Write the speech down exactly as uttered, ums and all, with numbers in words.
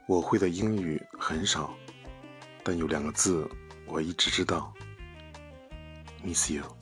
我会的英语很少，但有两个字我一直知道 ，miss you。